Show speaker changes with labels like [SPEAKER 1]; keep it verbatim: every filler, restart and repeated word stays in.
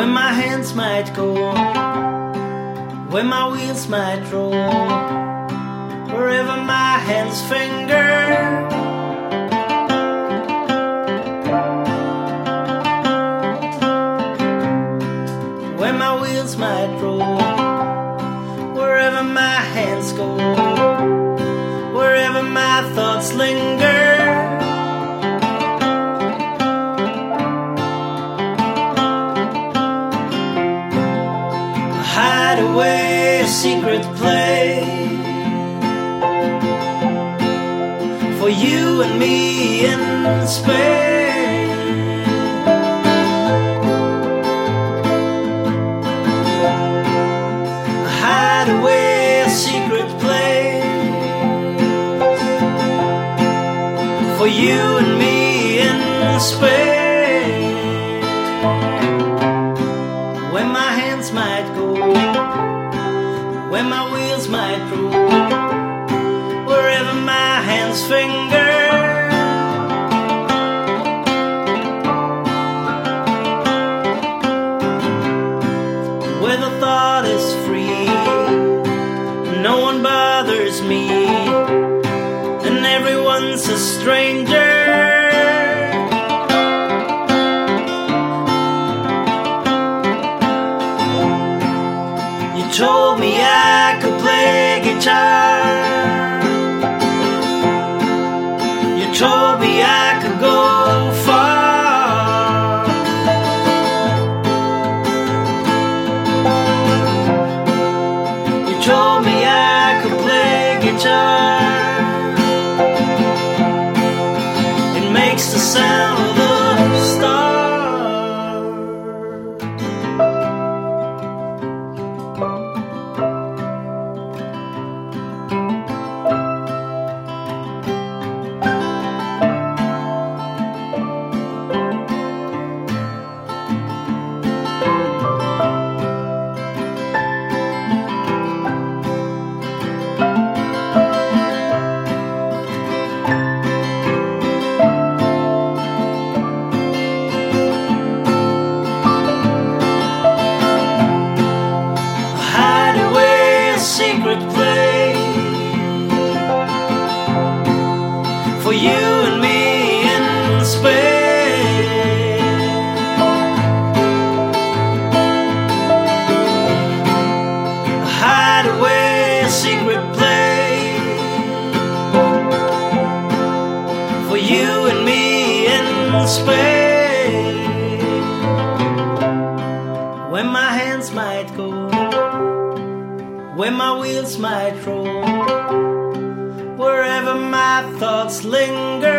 [SPEAKER 1] where my hands might go, where my wheels might roll, wherever my hands finger. Where my wheels might roll, wherever my hands go, wherever my thoughts linger. Hide away, a secret place for you and me in space. Hide away, a secret place for you and me in space, where my hands might go, where my wheels might roll, wherever my hands finger. Where the thought is free, no one bothers me, and everyone's a stranger. You told me I could play guitar, you told me I could go far. You told me I could play guitar, it makes the sound of the stars. Secret place for you and me in space. Hide away, a secret place for you and me in space, where my hands might go, where my wheels might roll, wherever my thoughts linger.